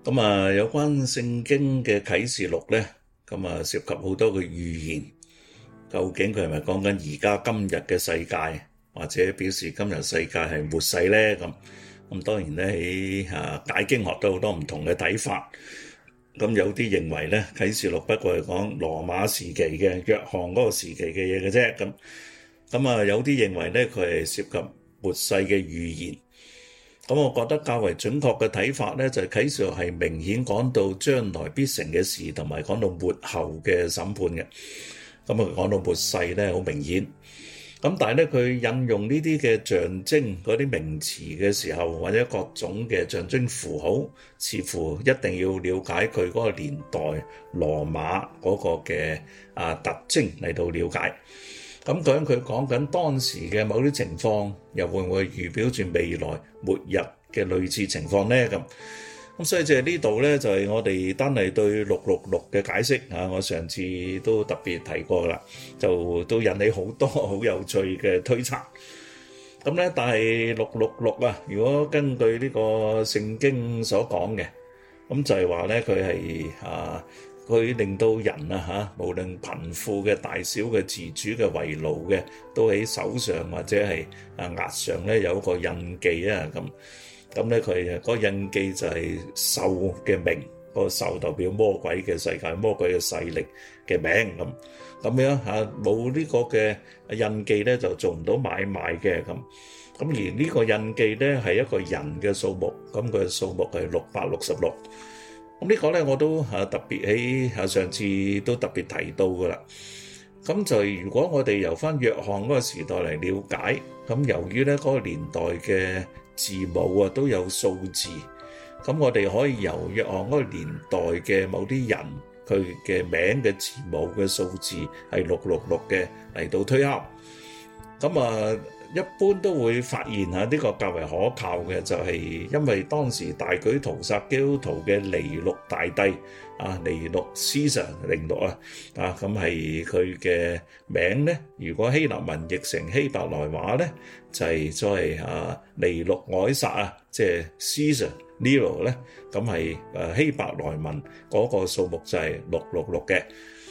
咁有關聖經嘅啟示錄咧，涉及好多嘅預言，究竟佢係咪講緊而家今日嘅世界，或者表示今日世界係末世咧？咁當然咧喺解經學都有好多唔同嘅睇法。咁有啲認為咧，啟示錄不過係講羅馬時期嘅約翰嗰個時期嘅嘢嘅啫。咁有啲認為咧，佢係涉及末世嘅預言。咁我覺得較為準確嘅睇法咧，就係啟示錄係明顯講到將來必成嘅事，同埋講到末後嘅審判嘅。講到末世咧，好明顯。咁但係咧，佢引用呢啲嘅象徵嗰啲名詞嘅時候，或者各種嘅象徵符號，似乎一定要了解佢嗰個年代羅馬嗰個嘅特徵嚟到了解。咁究竟佢講緊當時嘅某啲情況，又會唔會預表住未來末日嘅類似情況呢？咁所以就係呢度咧，就係我哋單係對666嘅解釋。我上次都特別提過啦，就都引起好多好有趣嘅推測。咁咧，但係666如果根據呢個聖經所講嘅，咁就係話咧，佢係佢令到人無論貧富嘅大小嘅自主嘅為奴嘅，都喺手上或者係額上咧有一個印記啊。咁咧佢嗰個印記就係獸嘅名，個獸代表魔鬼嘅世界、魔鬼嘅勢力嘅名。咁樣冇呢個嘅印記咧，就做唔到買賣嘅。咁而呢個印記咧係一個人嘅數目，咁佢嘅數目係666。咁呢個咧我都特別喺上次都特別提到噶啦。咁就如果我哋由翻約翰嗰個時代嚟了解，咁由於咧嗰個年代嘅字母都有數字，咁我哋可以由約翰嗰個年代嘅某啲人佢嘅名嘅字母嘅數字係666嘅嚟到推敲。咁一般都會發現呢個較為可靠嘅就係因為當時大舉屠殺基督徒嘅尼祿大帝尼祿 Caesar 寧祿咁係佢嘅名咧。如果希臘文譯成希伯來話咧，就係所謂尼祿凱撒即係 Caesar Nero 咧，咁係希伯來文嗰個數目就係666嘅。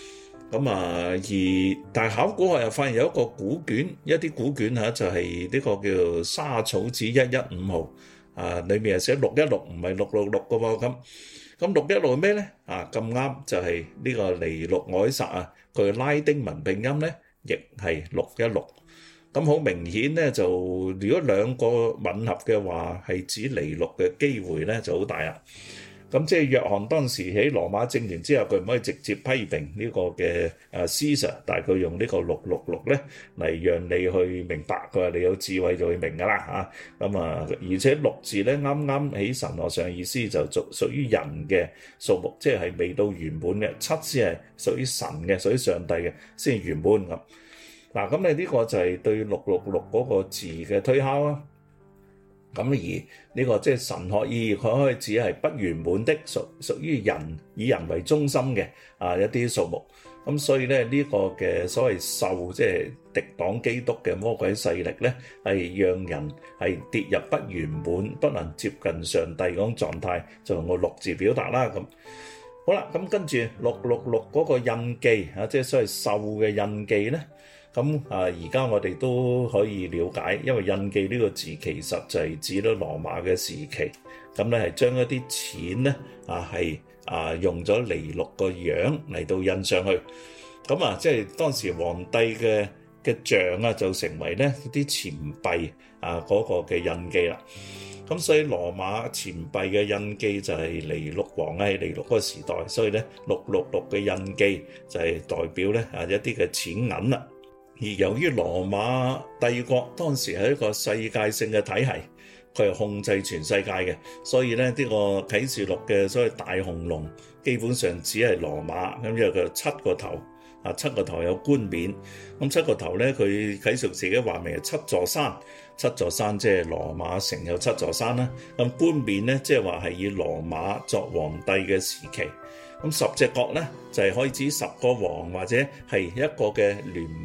但係考古學又發現有一個古卷，一啲古卷就係呢個叫沙草紙115號裏面係寫616，唔係666嘅喎。咁616係咩咧？咁啱就係呢個尼祿凱撒佢拉丁文拼音咧，亦係616。咁好明顯咧，就如果兩個吻合嘅話，係指尼祿嘅機會咧就好大啦。咁即係約翰當時喺羅馬政權之後，佢唔可以直接批評呢個嘅Caesar，但係佢用呢個666咧嚟讓你去明白。佢話你有智慧就會明㗎啦。而且6字咧啱啱喺神學上意思就屬於人嘅數目，即係未到圓滿嘅。7先係屬於神嘅，屬於上帝嘅先係圓滿咁。咁你呢個就係對666嗰個字嘅推敲啊。咁而呢個即係神學意義，佢可以指係不圓滿的，屬於人以人為中心嘅一啲數目。咁所以咧呢個嘅所謂獸，即係敵擋基督嘅魔鬼勢力咧，係讓人係跌入不圓滿、不能接近上帝嗰種狀態，就用個6字表達啦。咁好啦，咁跟住666嗰個印記即係所謂獸嘅印記咧。而家我哋都可以了解，因為印記呢個字其實就係指到羅馬嘅時期，咁咧係將一啲錢咧用咗尼祿個樣嚟到印上去，即係當時皇帝嘅像就成為咧啲錢幣嗰個嘅印記啦。咁所以羅馬錢幣嘅印記就係尼祿王喺尼祿嗰個時代，所以咧666嘅印記就係代表咧一啲嘅錢銀啦。而由於羅馬帝國當時係一個世界性嘅體系，佢係控制全世界嘅，所以咧呢個啟示錄嘅所謂大紅龍基本上只係羅馬，咁因為佢7個頭，7個頭有冠冕，咁7個頭咧佢啟示錄自己話明係7座山，7座山即係羅馬城有7座山啦。咁冠冕咧即係話係以羅馬作皇帝嘅時期。咁10隻角咧就係可以指10個王或者係一個嘅聯盟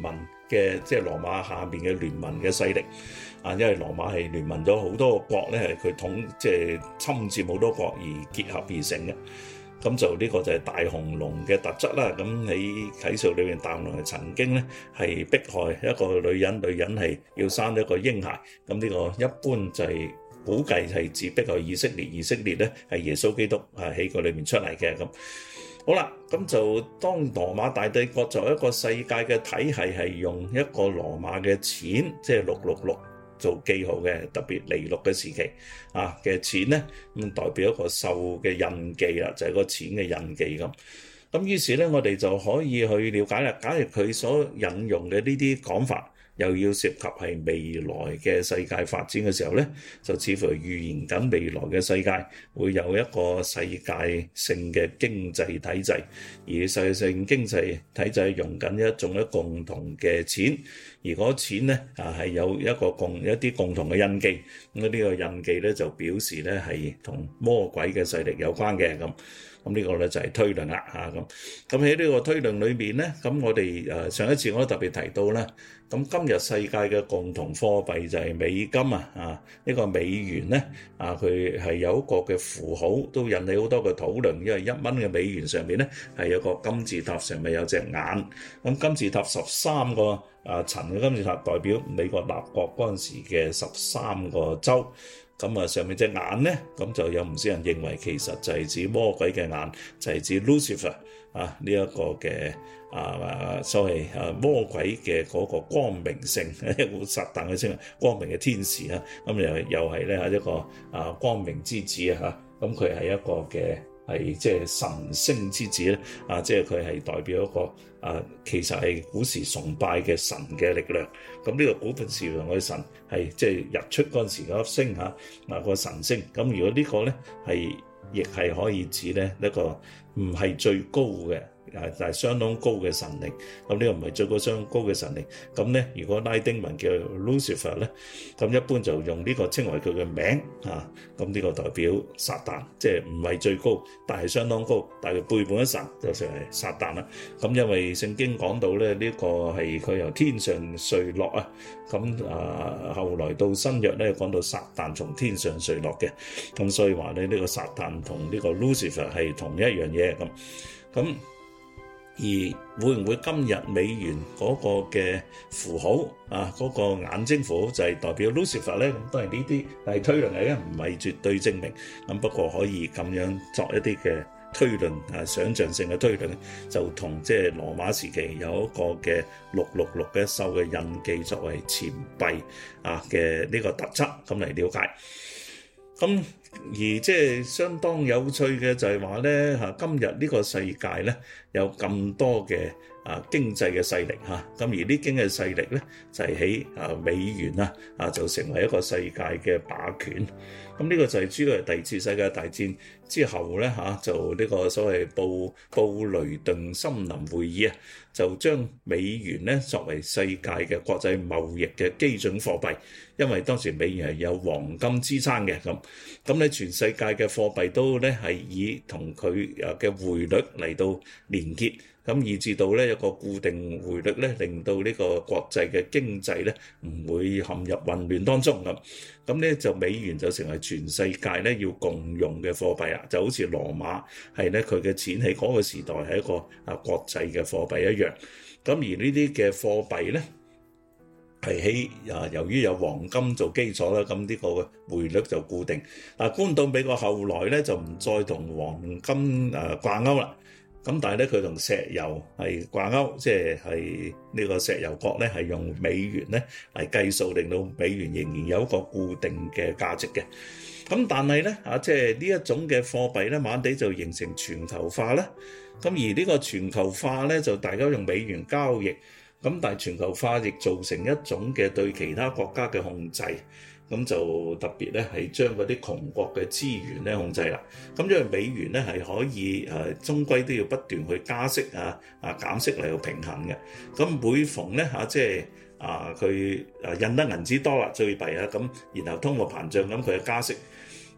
嘅即係羅馬下面嘅聯盟嘅勢力啊，因為羅馬係聯盟咗好多個國咧，係佢即係侵佔好多國而結合而成嘅。咁就呢個就係大紅龍嘅特質啦。咁喺啟示錄裏面，大紅龍係曾經咧係迫害一個女人，女人係要生一個嬰孩。咁呢個一般就係估計係指迫害以色列，以色列咧係耶穌基督喺個裏面出嚟嘅。咁好啦，咁就當羅馬大帝國作為一個世界嘅體系，係用一個羅馬嘅錢，即係666做記號嘅，特別尼祿嘅時期嘅錢咧，咁代表一個獸嘅印記啦，就係個錢嘅印記咁。咁於是咧，我哋就可以去了解啦。假如佢所引用嘅呢啲講法，又要涉及係未來嘅世界發展嘅時候咧，就似乎預言緊未來嘅世界會有一個世界性嘅經濟體制，而世界性經濟體制用緊一種共同嘅錢，而嗰錢咧係有一啲共同嘅印記。咁呢個印記咧就表示咧係同魔鬼嘅勢力有關嘅咁。咁呢個咧就係推論啦嚇咁。咁喺呢個推論裏面咧，咁我哋上一次我都特別提到啦。咁今日世界嘅共同貨幣就係美金呢個美元咧佢係有一個嘅符號，都引起好多嘅討論。因為1蚊嘅美元上面咧係有個金字塔，上面有隻眼。咁金字塔13個層嘅金字塔代表美國立國嗰陣時嘅13個州。咁上面隻眼咧，咁就有唔少人認為其實就係指魔鬼嘅眼，就係指 Lucifer 呢一個嘅所謂魔鬼嘅嗰個光明性，撒旦嘅稱光明嘅天使咁又係咧一個光明之子咁佢係一個嘅係即係神星之子咧即係佢係代表一個其實係古時崇拜嘅神嘅力量。咁呢個古時用嘅神係即係日出嗰陣時嗰粒星個神星。咁如果呢個咧亦係可以指咧一個唔係最高嘅，但係相當高嘅神靈。咁呢個唔係最高相當高嘅神靈。咁咧，如果拉丁文叫 Lucifer 咧，咁一般就用呢個稱為佢嘅名咁呢個代表撒旦，即係唔係最高，但係相當高，但係背叛咗神就成為撒旦啦。咁因為聖經講到咧，呢個係佢由天上墜落咁後來到新約咧講到撒旦從天上墜落嘅，咁所以話咧呢個撒旦同呢個 Lucifer 係同一樣嘢咁。而會唔會今日美元嗰個嘅符號嗰個眼睛符號就係代表 Lucifer 咧？咁當然呢啲係推論嚟嘅，唔係絕對證明。咁不過可以咁樣作一啲嘅推論想像性嘅推論，就同即係羅馬時期有一個嘅666嘅獸嘅印記作為錢幣嘅呢個特質咁嚟了解。咁而即係相當有趣嘅就係話咧今日呢個世界咧有咁多嘅經濟嘅勢力咁而呢經濟勢力咧就係喺美元就成為一個世界嘅霸權。咁呢個就係主要係第二次世界大戰之後咧就呢個所謂布雷頓森林會議就將美元咧作為世界嘅國際貿易嘅基準貨幣，因為當時美元係有黃金支撐嘅咁咧全世界嘅貨幣都咧係以同佢嘅匯率嚟到連結，咁以至到咧一個固定匯率咧，令到呢個國際嘅經濟咧唔會陷入混亂當中咁咧就美元就成為全世界咧要共用嘅貨幣就好似羅馬係咧佢嘅錢喺嗰個時代係一個國際嘅貨幣一樣。咁而呢啲嘅貨幣咧係由於有黃金做基礎啦，咁呢個匯率就固定。搬到美國後來咧就唔再同黃金掛鈎啦。咁但係咧佢同石油係掛鈎，即係呢個石油國咧係用美元咧嚟計數，令到美元仍然有一個固定嘅價值嘅。咁但係咧即係呢一種嘅貨幣咧，慢慢地就形成全球化啦。咁而呢個全球化咧就大家用美元交易，咁但係全球化亦造成一種嘅對其他國家嘅控制。咁就特別咧係將嗰啲窮國嘅資源咧控制啦。咁因為美元咧係可以終歸都要不斷去加息減息嚟到平衡嘅。咁每逢咧即係佢印得銀紙多啦，最弊咁然後通貨膨脹咁佢就加息。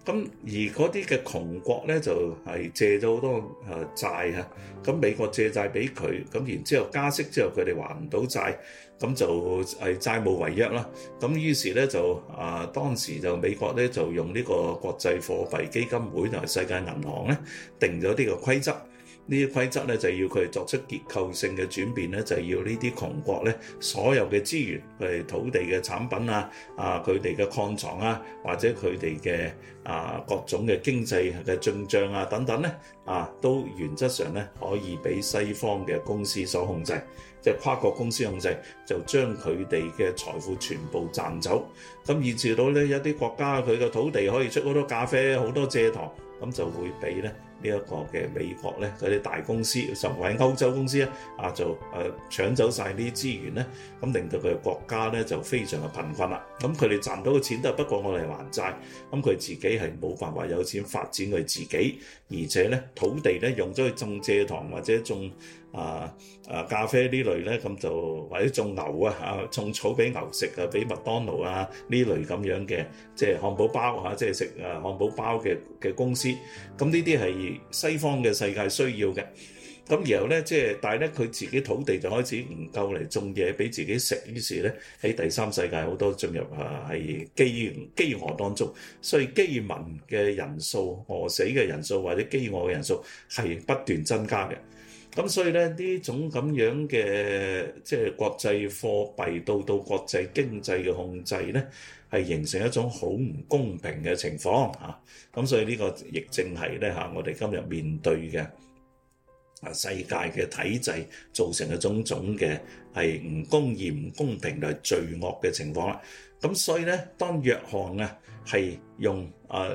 而嗰啲嘅窮國咧就係借咗好多債嚇，咁美國借債俾佢，咁然之後加息之後佢哋還唔到債，咁就係債務違約啦。咁於是咧就當時就美國咧就用呢個國際貨幣基金會同埋世界銀行咧定咗呢個規則。呢啲規則咧就要佢哋作出結構性嘅轉變咧，就要呢啲窮國咧所有嘅資源，佢哋土地嘅產品佢哋嘅礦藏或者佢哋嘅各種嘅經濟嘅進帳等等咧都原則上咧可以俾西方嘅公司所控制，即係跨國公司控制，就將佢哋嘅財富全部賺走，咁以至到咧一啲國家佢嘅土地可以出好多咖啡、好多蔗糖，咁就會俾咧呢一個嘅美國咧嗰啲大公司，甚至係歐洲公司就搶走晒呢啲資源咧，咁令到佢嘅國家咧就非常嘅貧困啦。咁佢哋賺到嘅錢都係不過我哋還債，咁佢自己係冇辦法有錢發展佢自己，而且咧土地咧用咗去種蔗糖或者種咖啡呢類咧，咁就或者種牛種草俾牛食俾麥當勞呢類咁樣嘅，即係漢堡包即係食漢堡包嘅公司，咁呢啲係西方嘅世界需要嘅。咁然後咧，但係咧佢自己土地就開始唔夠嚟種嘢俾自己食，於是咧喺第三世界好多進入係飢餓當中，所以饑民嘅人數、餓死嘅人數或者饑餓嘅人數係不斷增加嘅。咁所以咧呢種咁樣嘅即係國際貨幣到國際經濟嘅控制咧，係形成一種好唔公平嘅情況嚇。咁所以呢個亦正係咧我哋今日面對嘅世界嘅體制造成嘅種種嘅係唔公義、唔公平同係罪惡嘅情況啦。咁所以咧，當約翰係用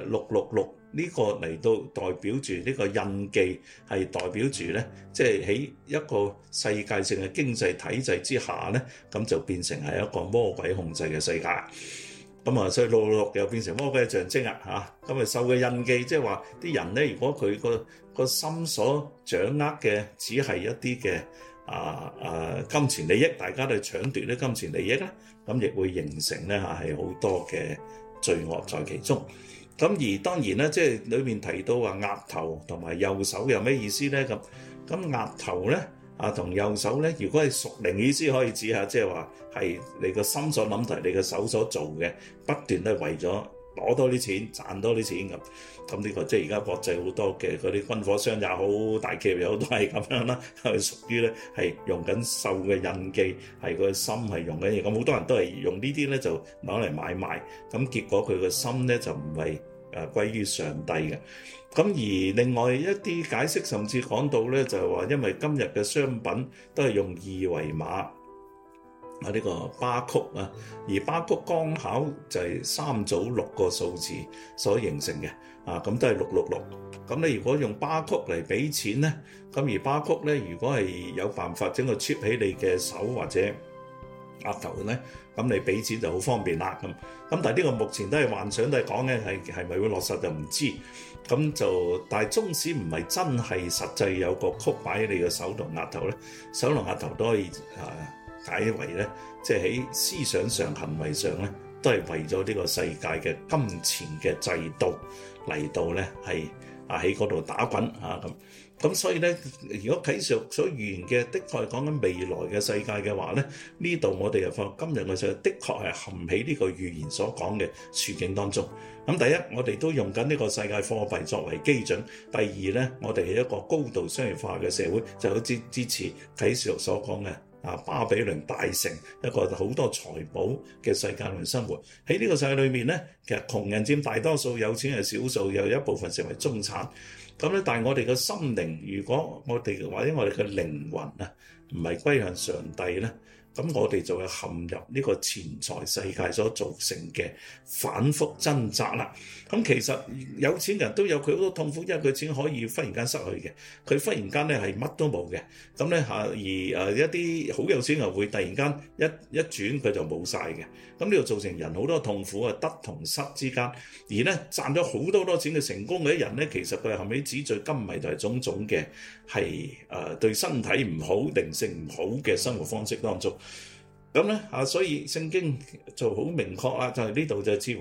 666呢個嚟到代表住呢個印記，係代表住咧，即係喺一個世界性嘅經濟體制之下咧，咁就變成係一個魔鬼控制嘅世界。咁所以666又變成魔鬼嘅象徵咁受嘅印記，即係話啲人咧，如果佢個心所掌握嘅只係一啲嘅金錢利益，大家都搶奪啲金錢利益咧，咁亦會形成咧係好多嘅罪惡在其中。咁而當然咧，即係裏面提到話額頭同埋右手有咩意思咧？咁額頭咧同右手咧，如果係屬靈意思可以指下，即係話係你個心所諗同你個手所做嘅，不斷都係為咗攞多啲錢、賺多啲錢咁。咁呢個即係而家國際好多嘅嗰啲軍火商也好、大企業又好，都係咁樣啦，係屬於咧係用緊獸嘅印記，係佢個心係用緊嘢。咁好多人都係用呢啲咧就攞嚟買賣，咁結果佢個心咧就唔係歸於上帝嘅。咁而另外一啲解釋甚至講到咧，就係話因為今日嘅商品都係用二維碼呢個巴曲而巴曲剛巧就係3組6個數字所形成嘅咁都係666。咁你如果用巴曲嚟俾錢咧，咁而巴曲咧如果係有辦法整個 chip 喺你嘅手或者額頭咧，咁你俾錢就好方便啦。咁但係呢個目前都係幻想，都係講嘅係咪會落實就唔知。咁就但係縱使唔係真係實際有個曲擺喺你嘅手同額頭咧，手同額頭都可以解為咧，即係喺思想上、行為上咧，都係為咗呢個世界嘅金錢嘅制度嚟到咧，係喺嗰度打滾咁所以咧，如果啟示錄所預言嘅，的確係講緊未來嘅世界嘅話咧，呢度我哋又發覺今日嘅世界的確係陷喺呢個預言所講嘅處境當中。咁第一，我哋都用緊呢個世界貨幣作為基準；第二咧，我哋係一個高度商業化嘅社會，就好似支持啟示錄所講嘅巴比倫大城，一個好多財寶嘅世界裏生活。喺呢個世界裏面咧，其實窮人佔大多數，有錢係少數，又有一部分成為中產。咁咧，但係我哋嘅心靈，如果我哋或者我哋嘅靈魂唔係歸向上帝咧，咁我哋就會陷入呢個錢財世界所造成嘅反覆掙扎啦。咁其實有錢人都有佢好多痛苦，因為佢錢可以忽然間失去嘅，佢忽然間咧係乜都冇嘅。咁咧而一啲好有錢人會突然間一轉佢就冇晒嘅。咁呢度造成人好多痛苦得同失之間。而咧賺咗好多錢嘅成功嘅人咧，其實佢係陷喺紙醉金迷同埋種種嘅係對身體唔好、靈性唔好嘅生活方式當中。咁咧所以聖經就好明確啦，就係呢度就似乎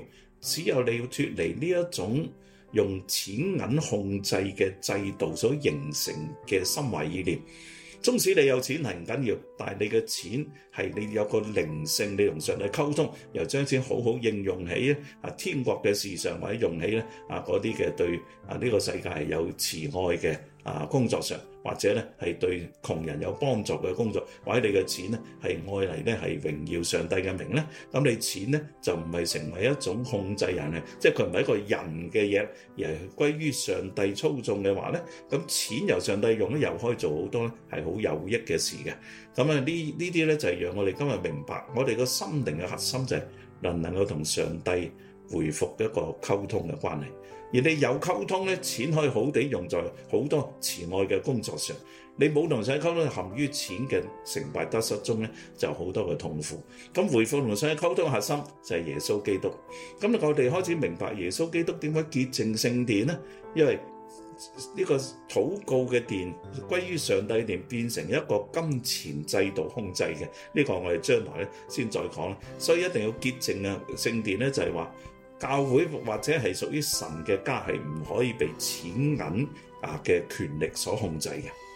只有你要脫離呢一種用錢銀控制嘅制度所形成嘅心懷意念。縱使你有錢係唔緊要，但係你嘅錢係你有個靈性，你同上帝溝通，又將錢好好應用喺天國嘅事上，或者用喺咧嗰啲嘅對呢個世界係有慈愛嘅工作上，或者咧係對窮人有幫助嘅工作，或者你嘅錢咧係愛嚟咧係榮耀上帝嘅名咧，咁你錢咧就唔係成為一種控制人嘅，即係佢唔係一個人嘅嘢，而係歸於上帝操縱嘅話咧，咁錢由上帝用咧又可以做好多咧係好有益嘅事嘅。咁呢啲咧就係讓我哋今日明白，我哋個心靈嘅核心就係能唔能夠同上帝回復一個溝通嘅關係。而你有溝通咧，錢可以好地用在好多慈愛嘅工作上。你冇同上帝溝通，陷於錢嘅成敗得失中咧，就好多嘅痛苦。咁回復同上帝溝通嘅核心就係耶穌基督。咁我哋開始明白耶穌基督點解潔淨聖殿咧？因為呢個禱告嘅殿歸於上帝嘅殿，變成一個金錢制度控制嘅，呢個我哋將來咧先再講。所以一定要潔淨啊！聖殿咧就係話，教會或者係屬於神嘅家係唔可以被錢銀嘅權力所控制嘅。